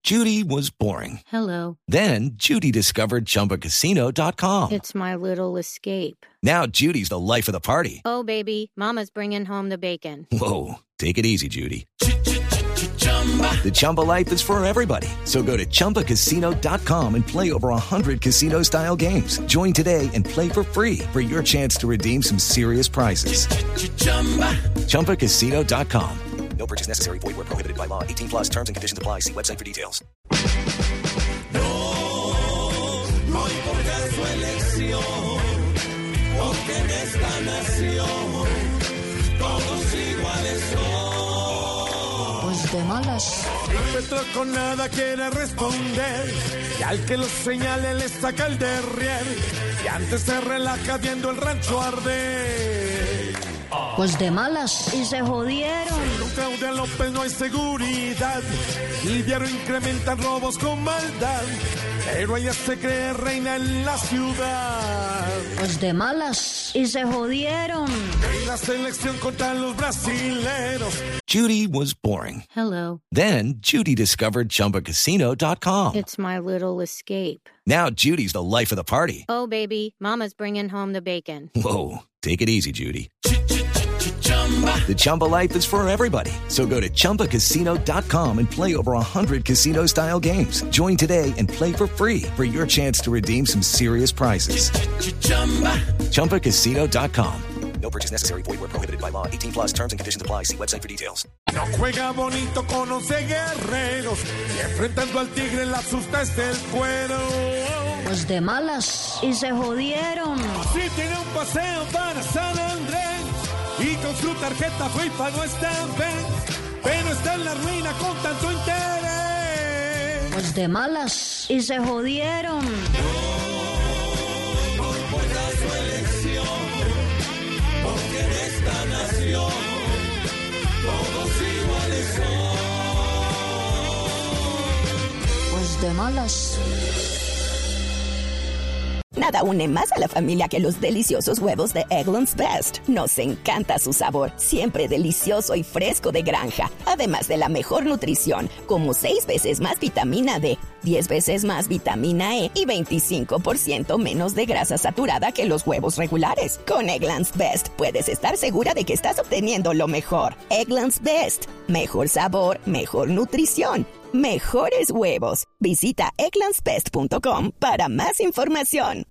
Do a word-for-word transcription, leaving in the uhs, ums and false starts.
Judy was boring. Hello. Then Judy discovered Chumba Casino dot com. It's my little escape. Now Judy's the life of the party. Oh, baby, mama's bringing home the bacon. Whoa, take it easy, Judy. The Chumba life is for everybody. So go to Chumba Casino dot com and play over one hundred casino-style games. Join today and play for free for your chance to redeem some serious prizes. Chumba Casino dot com. No purchase necessary. Void where prohibited by law. eighteen plus terms and conditions apply. See website for details. No, no importa su elección, porque en esta nación todos iguales son. Pues de malas. El Petro con nada quiere responder, y al que lo señale le saca el derrier, y antes se relaja viendo el rancho arder. Pues de malas. Y se jodieron. Con Claudia López no hay seguridad, y diario incrementan robos con maldad, pero ella se cree reina en la ciudad. Pues de malas. Y se jodieron. En la selección contra los brasileros. Judy was boring. Hello. Then Judy discovered Chumba Casino dot com. It's my little escape. Now Judy's the life of the party. Oh, baby, mama's bringing home the bacon. Whoa, take it easy, Judy. The Chumba life is for everybody. So go to Chumba Casino dot com and play over one hundred casino-style games. Join today and play for free for your chance to redeem some serious prizes. Chumba Casino dot com. No purchase necessary. Void where prohibited by law. eighteen plus terms and conditions apply. See website for details. No juega bonito con once guerreros, y enfrentando al tigre la asusta es el cuero. Pues de malas. Y se jodieron. Si tiene un paseo para San Andrés, y con su tarjeta FIFA no está bien, pero está en la ruina con tanto interés. Pues de malas. Y se jodieron. No, no importa su elección, porque en esta nación todos iguales son. Pues de malas. Nada une más a la familia que los deliciosos huevos de Eggland's Best. Nos encanta su sabor, siempre delicioso y fresco de granja. Además de la mejor nutrición, como seis veces más vitamina D, diez veces más vitamina E y veinticinco por ciento menos de grasa saturada que los huevos regulares. Con Eggland's Best puedes estar segura de que estás obteniendo lo mejor. Eggland's Best. Mejor sabor, mejor nutrición. Mejores huevos. Visita egglands best punto com para más información.